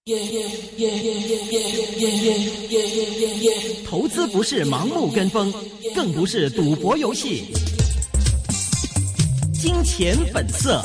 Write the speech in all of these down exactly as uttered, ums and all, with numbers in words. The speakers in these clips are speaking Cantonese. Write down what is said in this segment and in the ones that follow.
投資不是盲目跟風，更不是賭博遊戲。金錢本色。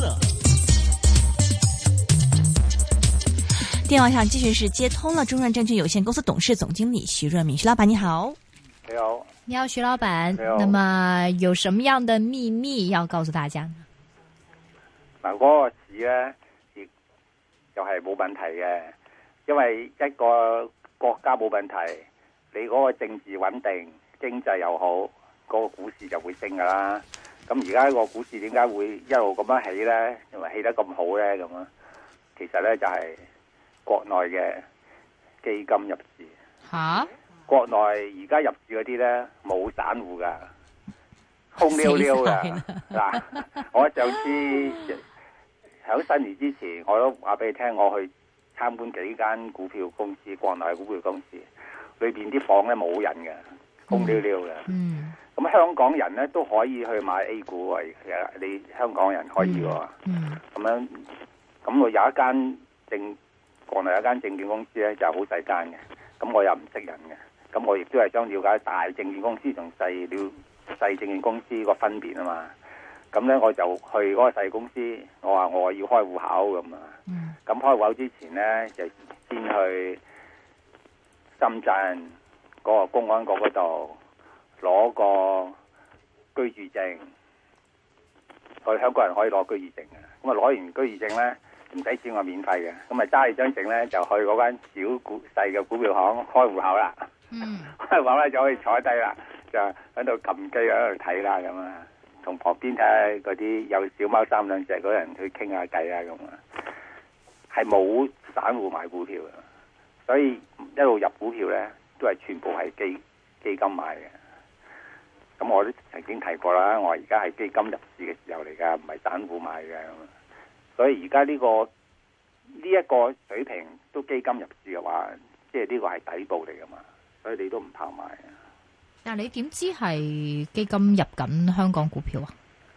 電話上繼續是接通了中潤證券有限公司董事總經理徐潤民，徐老闆你好。 你好， 你好，徐老闆。 你好。 那麼有什麼樣的秘密要告訴大家呢？ 嗱，嗰個市咧，亦又係冇問題嘅，因為一個國家冇問題，你嗰個政治穩定，經濟又好，嗰個股市就會升噶啦。咁而家個股市點解會一路咁樣起咧？因為起得咁好咧，咁啊，其實咧就係國內嘅基金入市。 吓？國內而家入市嗰啲咧冇散戶噶，空溜溜噶。嗱，我上次喺新年之前，我都話俾你聽，我去參觀幾間股票公司，國內股票公司裏邊啲房咧冇人嘅，空溜溜嘅。嗯。咁香港人咧都可以去買 A 股啊！其實你香港人可以喎。嗯。咁樣，咁我有一間證，國內有一間證券公司咧就好細間嘅，咁我又唔識人嘅。咁我亦都係想了解大證券公司同細了細證券公司個分別啊嘛。咁咧我就去嗰個細公司，我話我要開戶口咁啊。咁、嗯、開戶口之前咧就先去深圳嗰個公安局嗰度攞個居住證。我哋香港人可以攞居住證嘅。咁啊攞完居住證咧唔使錢，我免費嘅。咁啊揸住張證咧就去嗰間小股細嘅股票行開戶口啦。嗯，開戶咧就可以坐低啦，就喺度撳機喺度睇啦咁啊，同旁邊睇下嗰啲有小貓三兩隻嗰人去傾下偈啊咁啊，係冇散戶買股票嘅，所以一路入股票咧都係全部係基基金買嘅。咁我都曾經提過啦，我而家係基金入市嘅時候嚟噶，唔係散戶買嘅。所以而家呢個呢一個水平都基金入市嘅話，即係呢個係底部嚟噶嘛。所以你都唔怕買啊？ 但係你點知係基金入緊香港股票啊？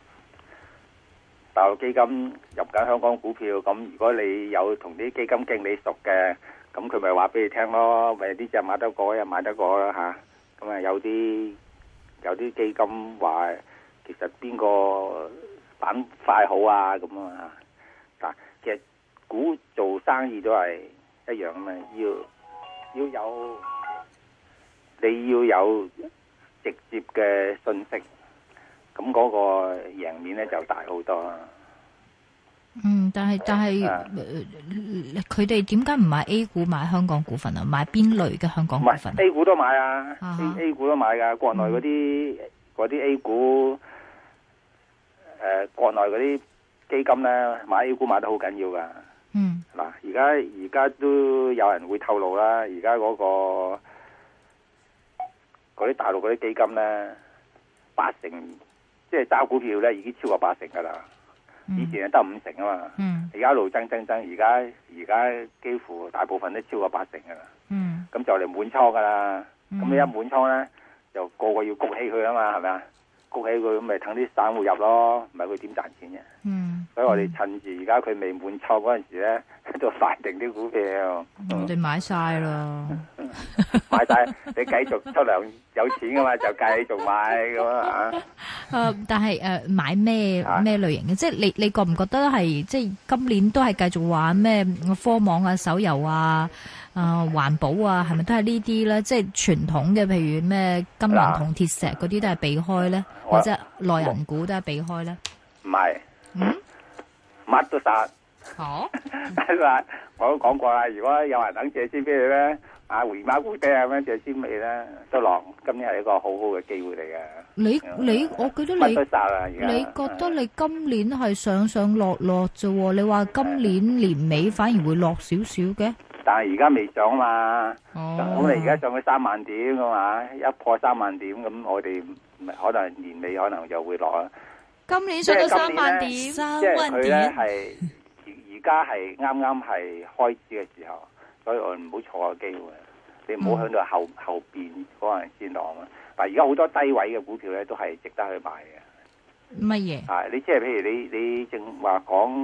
大陸基金入緊香港股票，咁如果你有同啲基金經理熟嘅，咁佢咪話俾你聽咯，咪呢隻買得過，又買得過啦吓。咁啊有啲有啲基金話，其實邊個板塊好啊咁啊？嗱，其實股做生意都係一樣啊嘛，要要有。你要有直接嘅信息，咁嗰個贏面咧就大好多。 嗯，但係但係，佢哋點解唔買 A 股買香港股份啊？買邊類嘅香港股份？ 唔係 A 股都買啊，啊 A, A 股都買噶。國內嗰啲嗰啲 A 股，誒、呃，國內嗰啲基金咧買 A 股買得好緊要噶。嗯，嗱，而家而家都有人會透露啦，而家嗰個。嗰啲大陸嗰啲基金咧，八成即係揸股票咧，已經超過八成噶啦。嗯、以前係得五成啊嘛，而家、嗯、一路增增增，而家而家幾乎大部分都超過八成噶啦。咁、嗯、就嚟滿倉噶啦，咁你、嗯、一滿倉咧，就個個要谷起佢啊嘛，係咪啊？谷起佢咁咪等啲散戶入咯，唔係佢點賺錢嘅？嗯，所以我哋趁住而家佢未滿倉嗰陣時咧，都快定啲股票。 我哋買晒啦， 買晒，你繼續出糧有錢噶嘛，就繼續買咁啊。 誒，但係誒，買咩咩類型嘅？即係你你覺唔覺得係即係今年都係繼續玩咩科網啊、手遊啊？啊，環保啊，係咪都係呢啲咧？即係傳統嘅，譬如咩金銀銅鐵石嗰啲都係避開咧，或者內銀股都係避開咧？ 唔係，嗯，乜都殺。好，我都講過啦。如果有人等借錢俾你咧，啊回馬股跌啊咁樣借錢俾你咧，都落。今年係一個好好嘅機會嚟嘅。你你，我記得你， 乜都殺啦。而家你覺得你今年係上上落落啫？你話今年年尾反而會落少少嘅？ 但係而家未上啊嘛，咁你而家上去三萬點噶嘛，一破三萬點咁，我哋可能年尾可能就會落啦。 今年上到三萬點， 三萬點，即係佢咧係而而家係啱啱係開始嘅時候，所以我唔好錯個機會，你唔好響到後、嗯、後邊嗰陣先落啊。但係而家好多低位嘅股票咧，都係值得去買嘅。 乜嘢？ 啊，你即係譬如你你正話講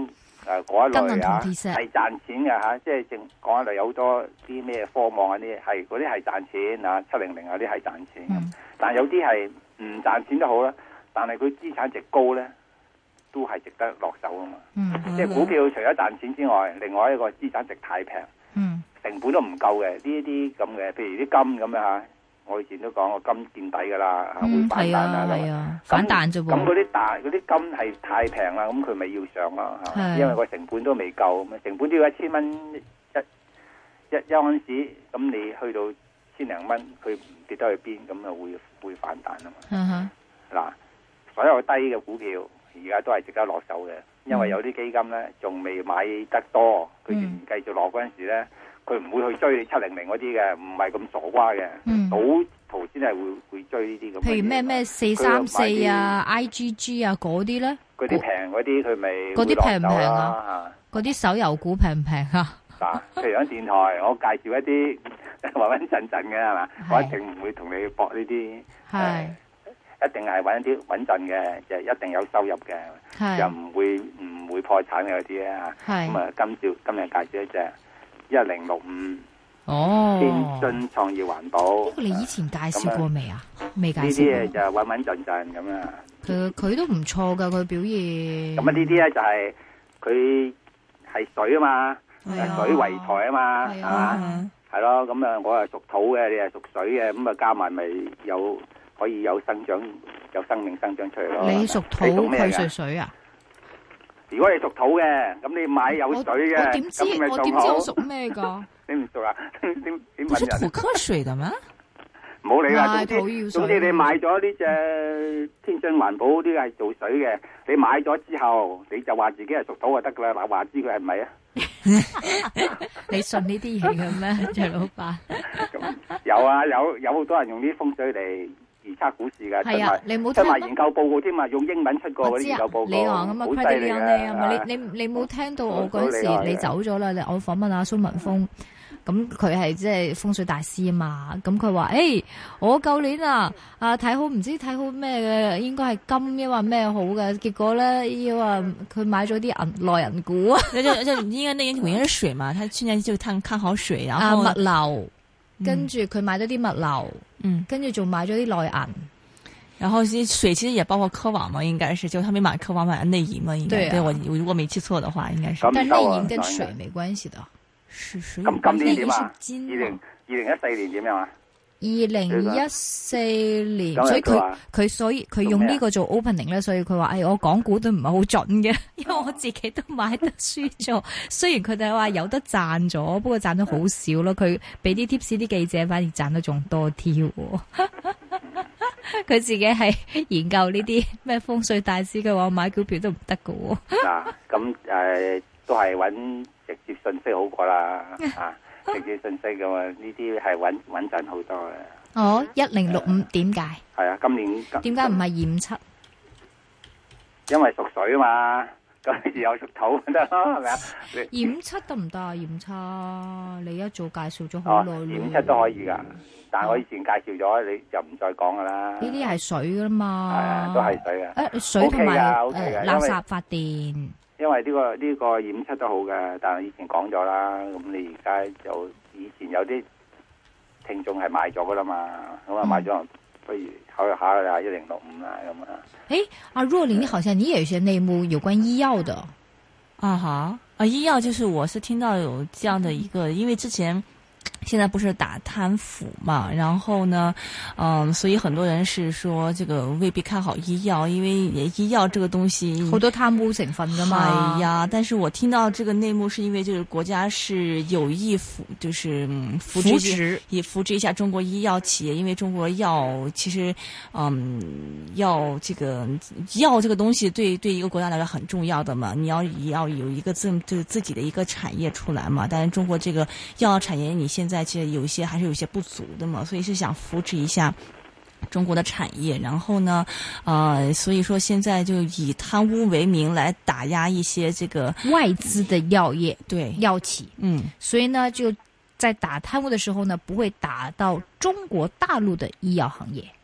誒嗰一類啊， 係賺錢嘅嚇，即係正講一類有好多啲咩科網嗰啲係嗰啲係賺錢啊，七零零嗰啲係賺錢，嗯、但係有啲係唔賺錢都好啦，但係佢資產值高咧，都係值得落手啊嘛。嗯、即係股票除咗賺錢之外，另外一個資產值太平，嗯、成本都唔夠嘅呢啲咁嘅，譬如啲金咁樣嚇。我以前都講過金見底噶啦，嗯、會反彈啊， 係啊，反彈啫喎。 咁嗰啲大嗰啲金係太平啦，咁佢咪要上咯，因為個成本都未夠，咁成本都要一千蚊一一一盎司，咁你去到千零蚊，佢唔跌得去邊，咁啊會會反彈啊嘛。嗱、uh-huh. 所有低嘅股票而家都係值得落手嘅，因為有啲基金咧仲未買得多，佢仍然繼續落嗰陣時咧。佢唔會去追你七零零嗰啲嘅，唔係咁傻瓜嘅。賭徒先係會會追呢啲咁。譬如咩咩四三四啊、I G G 啊嗰啲咧， 嗰啲平嗰啲佢咪嗰啲平唔平啊？嗰啲手遊股平唔平啊？ 嗱，譬如喺電台，我介紹一啲穩穩陣陣嘅係嘛，我一定唔會同你搏呢啲。係，一定係揾一啲穩陣嘅，就一定有收入嘅，又唔會唔會破產嘅嗰啲啊。咁啊，今朝今日介紹一隻。一零六五哦，天津創業環保。呢個你以前介紹過未啊？未介紹過。 呢啲嘢就穩穩陣陣咁啊。 佢佢都唔錯噶，佢表現。 咁啊，呢啲咧就係佢係水啊嘛，水為財啊嘛，係嘛，係咯。咁啊，我係屬土嘅，你係屬水嘅，咁啊加埋咪有可以有生長，有生命生長出嚟咯。 你屬土，佢屬水啊？ 如果你屬土嘅，咁你買有水嘅， 我點知我點知我屬咩噶？ 你唔熟啊？點點點問人？ 不是土克水的咩？ 唔好理啦，總之總之你買咗呢隻天津環保啲係做水嘅，你買咗之後你就話自己係屬土就得噶啦，嗱話知佢係咪啊？ 你信呢啲嘢嘅咩，徐老闆？ 有啊，有有好多人用啲風水嚟預測股市噶， 係啊，你冇出埋研究報告添啊，用英文出過嗰啲研究報告， 你話咁啊 credit 你啊，你你你冇聽到我嗰陣時你走咗啦，我訪問阿蘇文峰。咁佢係即係風水大師啊嘛，咁佢話誒，我舊年啊啊睇好唔知睇好咩嘅，應該係金抑或咩好嘅，結果咧要話佢買咗啲銀內銀股啊， 就就就應該那年股應該是水嘛，他去年就看看好水，然後啊物流，跟住佢買咗啲物流，嗯，跟住仲買咗啲內銀， 然後其實水其實也包括科網嘛，應該是就他沒買科網買內銀嘛，應該對、啊、對我我如果沒記錯的話，應該是， 但內銀跟水沒關係的。 咁今年點啊？二零二零一四年點樣啊？ 二零一四年，所以佢佢所以佢用呢個做 opening 咧，所以佢話：誒，我講股都唔係好準嘅，因為我自己都買得輸咗。雖然佢哋話有得賺咗，不過賺得好少咯。佢俾啲 tips 啲記者，反而賺得仲多啲。佢自己係研究呢啲咩風水大師，佢話我買股票都唔得㗎。 嗱，咁誒都係揾直接信息好過啦，啊，直接信息嘅嘛，呢啲係穩穩陣好多嘅。 哦，一零六五點解？ 係啊，今年點解唔係二五七？ 因為屬水啊嘛，咁又屬土得咯，係咪啊？ 二五七得唔得啊？二五七，你一早介紹咗好耐。 二五七都可以噶，但係我以前介紹咗，你就唔再講噶啦。 呢啲係水噶嘛？係啊，都係水啊。 誒，水同埋誒垃圾發電。 因為呢、這個呢、這個二五七都好嘅，但係以前講咗啦，咁你而家就以前有啲聽眾係買咗噶啦嘛，咁啊買咗，不如考慮下啦，一零六五啦咁啊。 誒，阿若琳，好像你也有些內幕有關醫藥的啊哈啊，醫藥就是我是聽到有這樣的一個，因為之前。現在不是打貪腐嘛，然後呢，嗯，所以很多人是說這個未必看好醫藥，因為醫藥這個東西好多貪污成分噶嘛。 哎呀，但是我聽到這個內幕是因為就是國家是有意扶，就是扶持，也扶持一下中國醫藥企業，因為中國藥其實，嗯，藥這個藥這個東西對對一個國家來說很重要的嘛，你要要有一個自就自己的一個產業出來嘛，但是中國這個藥產業你現在其實有一些還是有一些不足的嘛，所以是想扶持一下中國的產業，然後呢，呃，所以說現在就以貪污為名來打壓一些這個外資的藥業， 對藥企，嗯，所以呢就在打貪污的時候呢，不會打到中國大陸的醫藥行業。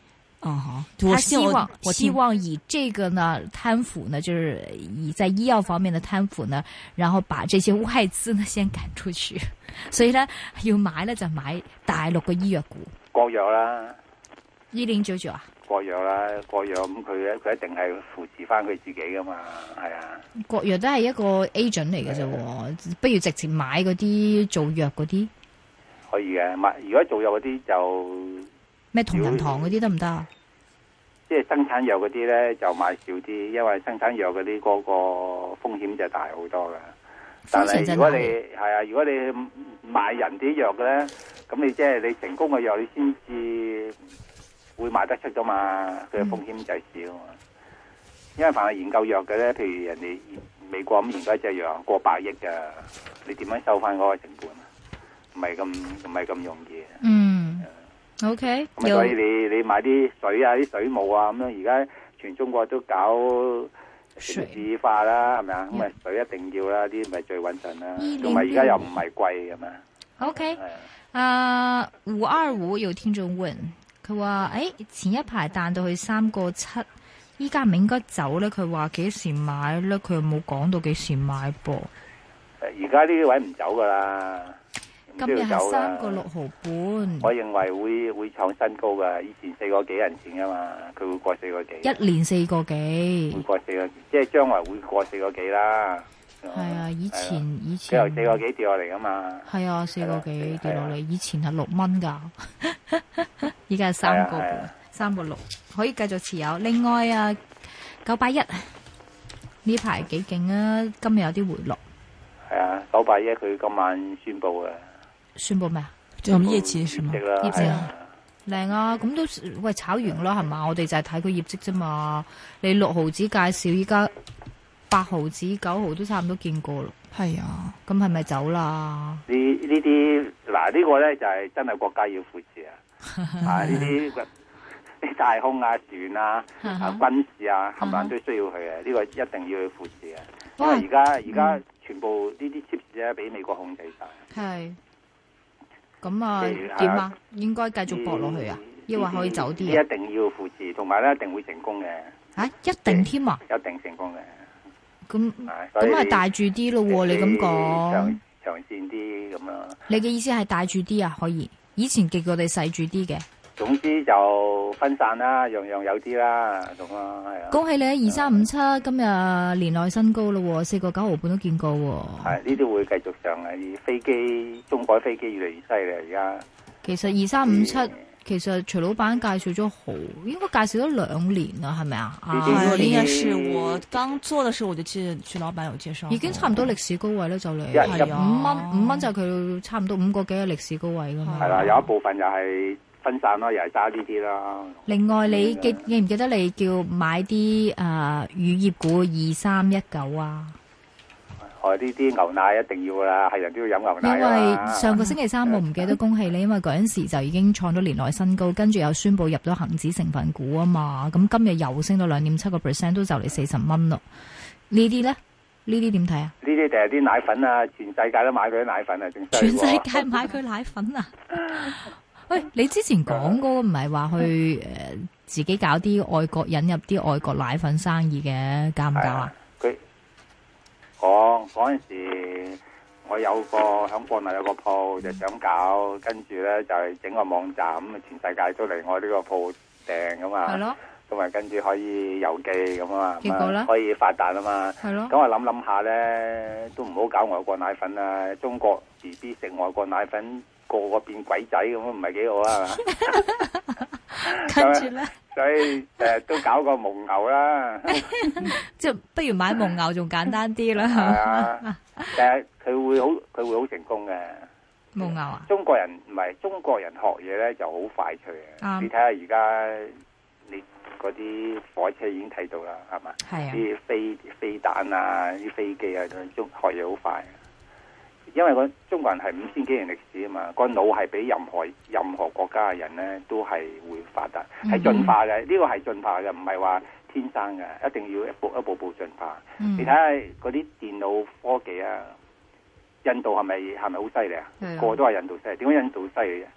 嗯哈， 他希望希望以這個呢貪腐呢，就是以在醫藥方面的貪腐呢，然後把這些外資呢先趕出去。所以呢，要買呢就買大陸嘅醫藥股。 國藥啦， 一零九九啊。 國藥啦，國藥咁佢咧，佢一定係扶持翻佢自己噶嘛，係啊。國藥都係一個 agent 嚟嘅啫，不如直接買嗰啲做藥嗰啲。 可以嘅，買如果做藥嗰啲就咩同仁堂嗰啲得唔得啊？ 即係生產藥嗰啲咧就買少啲，因為生產藥嗰啲嗰個風險就大好多噶。但係如果你係啊，如果你買人啲藥嘅咧，咁你即係你成功嘅藥，你先至會賣得出噶嘛，佢嘅風險就少啊。嗯、因為凡係研究藥嘅咧，譬如人哋美國咁研究一隻藥過百億噶，你點樣收翻嗰個成本？唔係咁唔係咁容易。 嗯。O K， 咁所以你你買啲水啊、啲水務啊咁樣，而家全中國都搞城市化啦，係咪啊？咁啊水一定要啦，啲咪最穩陣啦。同埋而家又唔係貴咁嘛。 O K，啊五二五有聽眾問，佢話誒前一排彈到去三個七，依家唔應該走咧？佢話幾時買咧？佢又冇講到幾時買噃。 而家呢啲位唔走噶啦。 今日係三個六毫半， 我認為會會創新高噶。以前四個幾人錢噶嘛，佢會過四個幾。 一年四個幾， 會過四個幾，即係將來會過四個幾啦。 係啊，以前以前由四個幾跌落嚟噶嘛。 係啊，四個幾跌落嚟，以前係六蚊噶，依家係三個半，三個六，可以繼續持有。另外啊，九八一呢排幾勁啊，今日有啲回落。 係啊，九八一佢今晚宣布嘅。 宣布咩啊？ 做業績是嗎？ 業績啊，靚啊！咁都喂炒完啦，係嘛？我哋就係睇佢業績啫嘛。你六毫子介紹，依家八毫子、九毫都差唔多見過咯。係啊，咁係咪走啦？ 呢呢啲嗱呢個咧就係真係國家要扶持啊！啊呢啲啲大空啊、船啊、啊軍事啊，冚唪唥都需要佢啊！呢個一定要去扶持啊！因為而家而家全部呢啲 chips 咧俾美國控制晒。係。 咁啊，點啊？應該繼續搏落去啊？抑或可以走啲啊？ 一定要扶持，同埋咧一定會成功嘅。 啊，一定添啊！ 一定成功嘅。 咁咁係大住啲咯？你咁講， 長長線啲咁樣。 你嘅意思係大住啲啊？可以？以前極我哋細住啲嘅。 總之就分散啦，樣樣有啲啦，咁啊係啊。 恭喜你啊！二三五七今日年內新高咯，四個九毫半都見過。 係呢啲會繼續上啊！飛機中國飛機越嚟越犀利而家。 其實二三五七其實徐老闆介紹咗好，應該介紹咗兩年啦，係咪啊？ 啊，應該是我剛做嘅時候我就知徐老闆有介紹， 已經差唔多歷史高位啦，就嚟係五蚊，五蚊就係佢差唔多五個幾嘅歷史高位噶嘛。 係啦，有一部分又係。分散咯，又係揸呢啲啦。 另外，你記記唔記得你叫買啲誒乳業股二三一九啊？ 哦，呢啲牛奶一定要啦，係人都要飲牛奶。 因為上個星期三我唔記得恭喜你，因為嗰陣時就已經創咗年內新高，跟住又宣布入咗恒指成分股啊嘛。咁今日又升到兩點七個 percent，都就嚟四十蚊咯。呢啲咧，呢啲點睇啊？呢啲就係啲奶粉啊，全世界都買佢啲奶粉啊，正全世界買佢奶粉啊！喂，你之前講嗰個唔係話去誒、呃、自己搞啲外國引入啲外國奶粉生意嘅，搞唔搞啊？ 佢我嗰陣時，我有個響國內有個鋪就想搞，跟住咧就係整個網站咁啊，全世界都嚟我呢個鋪訂噶嘛。係咯。咁啊，跟住可以郵寄咁啊嘛，結果咧可以發達啊嘛。係咯。咁我諗諗下咧，都唔好搞外國奶粉啦，中國 B B 食外國奶粉。個個變鬼仔咁唔係幾好啊，係嘛？跟住咧，所以誒都搞個蒙牛啦， 即係不如買蒙牛仲簡單啲啦。 係啊，但係佢會好，佢會好成功嘅。 蒙牛啊？ 中國人唔係中國人學嘢咧就好快脆嘅。你睇下而家你嗰啲火車已經睇到啦，係嘛？係啊。啲飛飛彈啊，啲飛機啊，中學嘢好快。因為個中國人係五千幾年歷史啊嘛，個腦係比任何任何國家嘅人咧都係會發達，係進化嘅。呢、這個係進化嘅，唔係話天生嘅，一定要一步一步步進化。嗯、你睇下嗰啲電腦科技啊，印度係咪係咪好犀利啊？個個都係印度犀利，點解印度犀利嘅？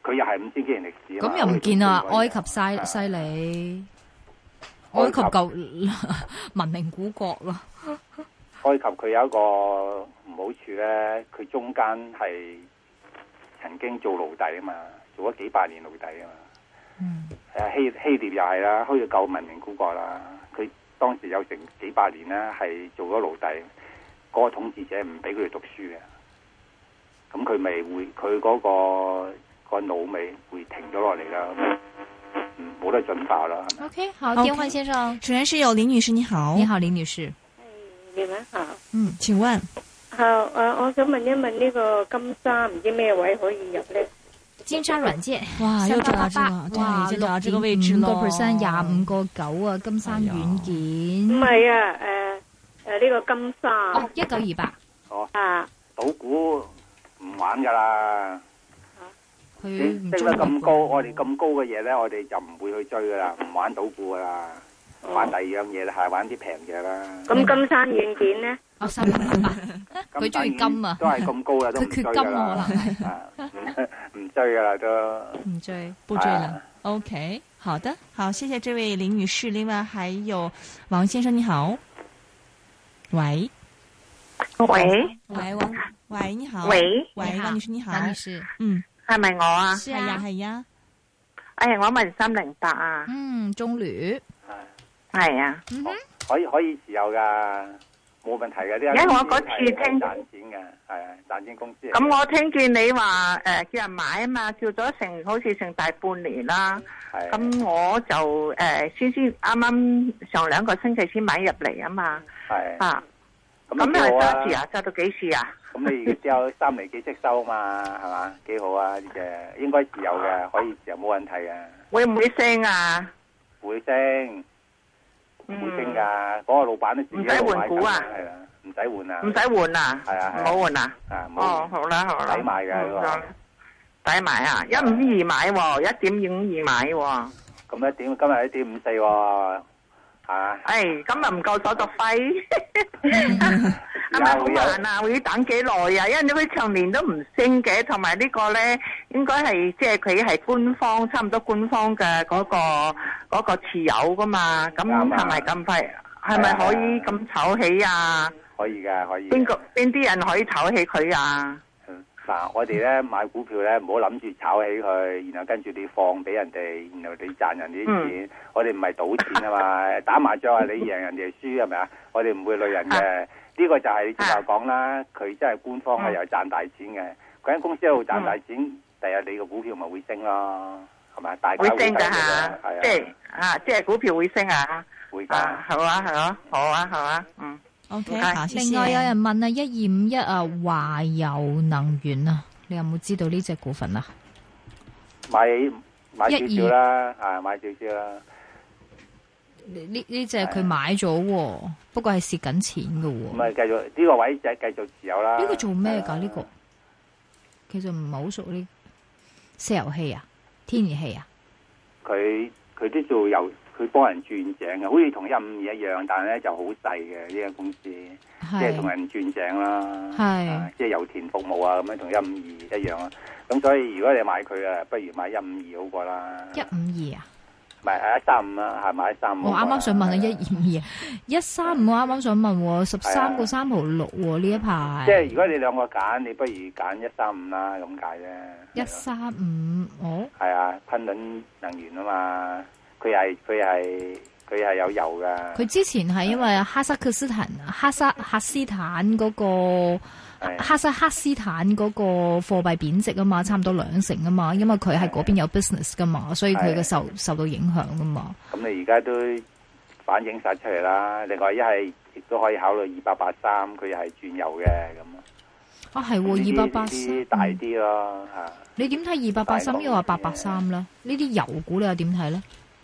佢又係五千幾年歷史。 咁又唔見啊，埃及犀犀利，埃及舊文明古國咯。 埃及佢有一個唔好處咧，佢中間係曾經做奴隸啊嘛，做咗幾百年奴隸啊嘛。嗯。誒希希臘又係啦，好似舊文明古國啦。佢當時有成幾百年咧，係做咗奴隸，嗰、嗰個統治者唔俾佢哋讀書嘅。咁佢咪會佢嗰、嗰個、嗰個腦咪會停咗落嚟啦，冇得進化啦。 OK， 好，電話先生， 主持人有林女士，你好， 你好，林女士。 你們好， 嗯，請問， 好，誒，我想問一問呢個金沙唔知咩位可以入咧？ 金沙軟件， 哇，又找到這個， 哇， 對，就找到這個位置咯， 五個 percent， 廿五個九啊，金沙軟件。 唔係啊，誒誒，呢個金沙， 哦，一九二八， 哦， 啊， 賭股唔玩噶啦， 佢升得咁高，我哋咁高嘅嘢咧，我哋就唔會去追噶啦，唔玩賭股噶啦。玩第二樣嘢係玩啲平嘢啦。 咁金山軟件咧？ 哦，三百八八，佢中意金啊， 都係咁高啦，都唔追噶啦。 佢缺金可能唔追噶啦都。 唔追， 不追了。OK， 好的，好，謝謝這位林女士。另外還有王先生，你好。喂。 喂。 喂，王，喂，你好。 喂。 喂，王女士你好。 王女士， 嗯， 係咪我啊？ 係呀，係呀。 哎，我問三零八啊。 嗯，中旅。 係啊， 嗯、 可以可以持有噶，冇問題嘅。啲因為我嗰次聽賺錢嘅，係啊，賺錢公司。 咁我聽見你話誒、呃、叫人買啊嘛，叫咗成好似成大半年啦。係。咁我就誒、呃、先先啱啱上兩個星期先買入嚟啊嘛。係。啊。咁你係揸住啊？揸到幾時啊？ 咁你只有三厘幾息收啊嘛，係嘛？幾好啊！呢隻應該持有嘅，可以持有冇問題嘅。 會唔會升啊？ 會升。會升噶，嗰個老闆都自己唔使換股啊，係啊，唔使換啊， 唔使換啊，係啊，唔好換啊，哦，好啦好啦， 抵買嘅嗰個， 抵買啊，一五二買喎，一點五二買喎， 咁一點今日一點五四喎，吓，誒， 今日唔夠手續費，係咪好慢啊？會要等幾耐啊？因為佢長年都唔升嘅，同埋呢個咧，應該係即係佢係官方，差唔多官方嘅嗰個。嗰個持有噶嘛，咁係咪咁快？係咪可以咁炒起啊？ 可以噶，可以。 邊個邊啲人可以炒起佢啊？ 嗱，我哋咧買股票咧，唔好諗住炒起佢，然後跟住你放俾人哋，然後你賺人哋啲錢。嗯、我哋唔係賭錢啊嘛，打麻將啊，你贏人哋輸係咪啊？我哋唔會累人嘅。呢、啊、個就係你之前講啦，佢真係官方係又賺大錢嘅。嗰間、嗯、公司喺度賺大錢，第日、嗯、你個股票咪會升咯。係咪？大會升噶吓，即係啊，即係股票會升啊， 會噶， 好啊，係咯，好啊，好啊，嗯 ，OK， 另外有人問啊，一二五一啊，華油能源啊，你有冇知道呢隻股份啊？ 買買少少啦，啊，買少少啦。 呢呢隻佢買咗，不過係蝕緊錢噶。 唔係繼續呢個位就繼續持有啦。 呢個做咩噶？呢個其實唔係好熟呢，石油氣啊。天然氣啊，佢佢都做油，佢幫人轉井嘅，好似同一五二一樣，但係咧就好細嘅呢間公司，即係同人轉井啦，係、啊、即係油田服務啊，咁樣同一五二一樣啊。咁所以如果你買佢啊，不如買一五二好過啦。 一五二啊？ 唔係係一三五啦，係買一三五。 我啱啱想問啊，一二五二，一三五我啱啱想問，十三個三毫六呢一排。 即係如果你兩個揀，你不如揀一三五啦，咁解啫。 一三五，哦。係啊，昆侖能源啊嘛，佢係佢係佢係有油噶。 佢之前係因為哈薩克斯坦、哈薩克斯坦嗰個。哈薩克斯坦嗰個貨幣貶值啊嘛，差唔多兩成啊嘛，因為佢係嗰邊有 business 噶嘛，所以佢嘅受受到影響噶嘛。咁你而家都反映晒出嚟啦。另外一係亦都可以考慮二八八三，佢又係轉油嘅咁。 啊係，二八八三大啲咯吓。 你點睇二八八三？又話八八三啦？呢啲油股你又點睇咧？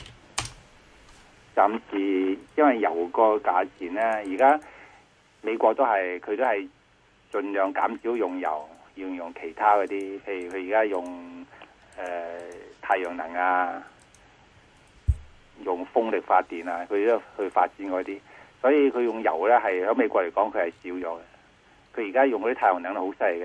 暫時因為油個價錢咧，而家美國都係佢都係。盡量減少用油，要用其他嗰啲，譬如佢而家用誒、呃、太陽能啊，用風力發電啊，佢都去發展嗰啲，所以佢用油咧係喺美國嚟講佢係少咗嘅。佢而家用嗰啲太陽能都好犀利嘅，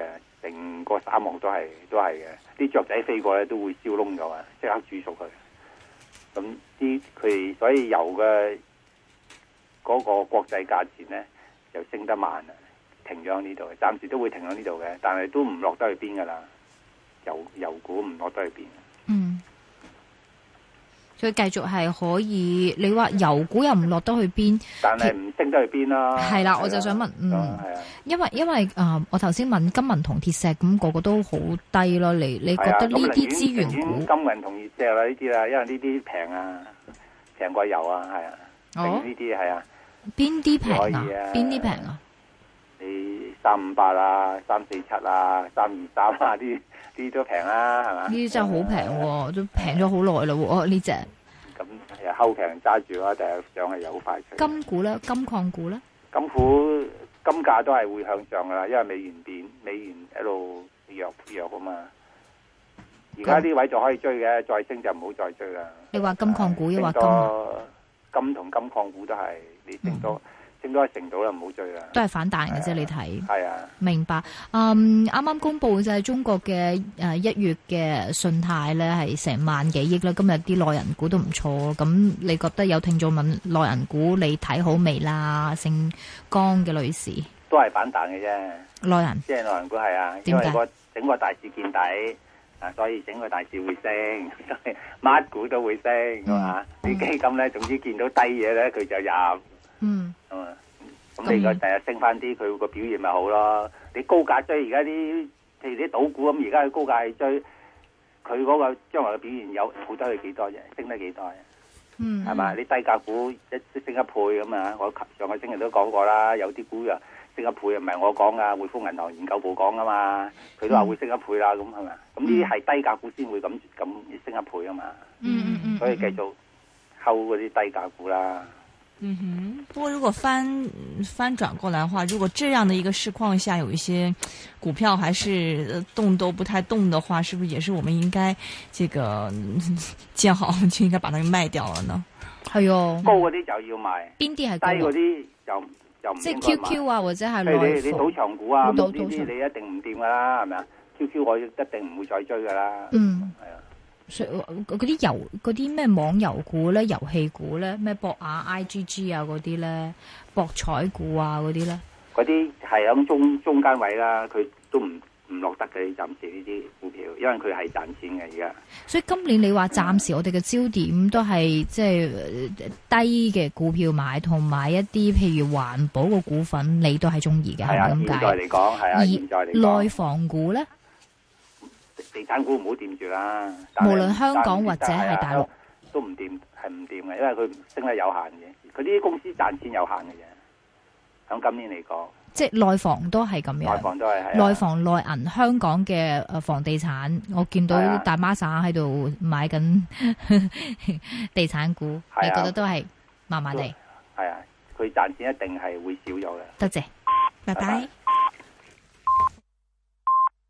成個沙漠都係都係嘅，啲雀仔飛過咧都會燒燶咗啊，即刻煮熟佢。咁啲佢所以油嘅嗰個國際價錢咧就升得慢啊，停咗喺呢度，暫時都會停喺呢度嘅，但係都唔落得去邊噶啦，油油股唔落得去邊。 嗯。佢繼續係可以，你話油股又唔落得去邊， 但係唔升得去邊啦。 係啦，我就想問，嗯， 係啊， 因為因為啊、呃，我頭先問金銀銅鐵石咁，那個個都好低咯。你你覺得呢啲資源股？ 金銀銅鐵石啦，呢啲啦，因為呢啲平啊，平過油啊，係啊。哦。呢啲係啊。邊啲平啊？邊啲平啊？你三五八啊，三四七啊，三二三啊啲。啲都平啦，係嘛？呢啲真係好平喎，都平咗好耐咯喎！呢隻咁又睺平揸住啦，但係上係有好快脆。金股咧，金礦股咧，金股金價都係會向上噶啦，因為美元貶，美元一路弱弱啊嘛。而家呢位就可以追嘅，再升就唔好再追啦。你話金礦股，抑或金金同金礦股都係你升多。嗯升多一成到啦，唔好追啦。都係反彈嘅啫，你睇。係啊，明白。嗯，啱啱公布就係中國嘅誒一月嘅信貸咧，係成萬幾億啦。今日啲內銀股都唔錯，咁你覺得有聽眾問內銀股你睇好未啦？姓江嘅女士都係反彈嘅啫。內銀即係內銀股係啊，因為個整個大市見底啊，所以整個大市會升，乜股都會升，係嘛？啲基金咧，總之見到低嘢咧，佢就入。嗯，咁咁你個第日升翻啲，佢個表現咪好咯？你高價追而家啲，譬如啲賭股咁，而家佢高價追，佢嗰個將來嘅表現有好得佢幾多啫？升得幾多？嗯，係嘛？你低價股一升一倍咁啊！我上個星期都講過啦，有啲股啊升一倍，唔係我講噶，匯豐銀行研究部講噶嘛，佢都話會升一倍啦，咁係咪？咁呢啲係低價股先會咁咁升一倍啊嘛。嗯嗯嗯，所以繼續睺嗰啲低價股啦。嗯哼，不過如果翻翻轉過來的話，如果這樣的一個市況下，有一些股票還是動都不太動的話，是不是也是我們應該這個見好就應該把它賣掉了呢？係哦，高嗰啲就要賣，邊啲係低嗰啲就就唔即係 Q Q 啊，或者係內你你賭場股啊，呢啲你一定唔掂噶啦，係咪啊 ？Q Q 我一定唔會再追噶啦，嗯，係啊。嗰啲遊嗰啲咩網遊股咧，遊戲股咧，咩博雅 I G G 啊嗰啲咧，博彩股啊嗰啲咧，嗰啲係響中中間位啦，佢都唔唔落得嘅，暫時呢啲股票，因為佢係賺錢嘅而家。所以今年你話暫時我哋嘅焦點都係即係低嘅股票買，同埋一啲譬如環保嘅股份，你都係中意嘅，係咪咁解？現在嚟講係啊，現在嚟講內房股咧。地產股唔好掂住啦，無論香港或者係大陸都唔掂，係唔掂嘅，因為佢升得有限嘅，佢啲公司賺錢有限嘅啫。響今年嚟講，即係內房都係咁樣，內房都係內房內銀香港嘅誒房地產，我見到大媽散喺度買緊地產股，你覺得都係麻麻地？係啊，佢賺錢一定係會少咗嘅。多謝，拜拜。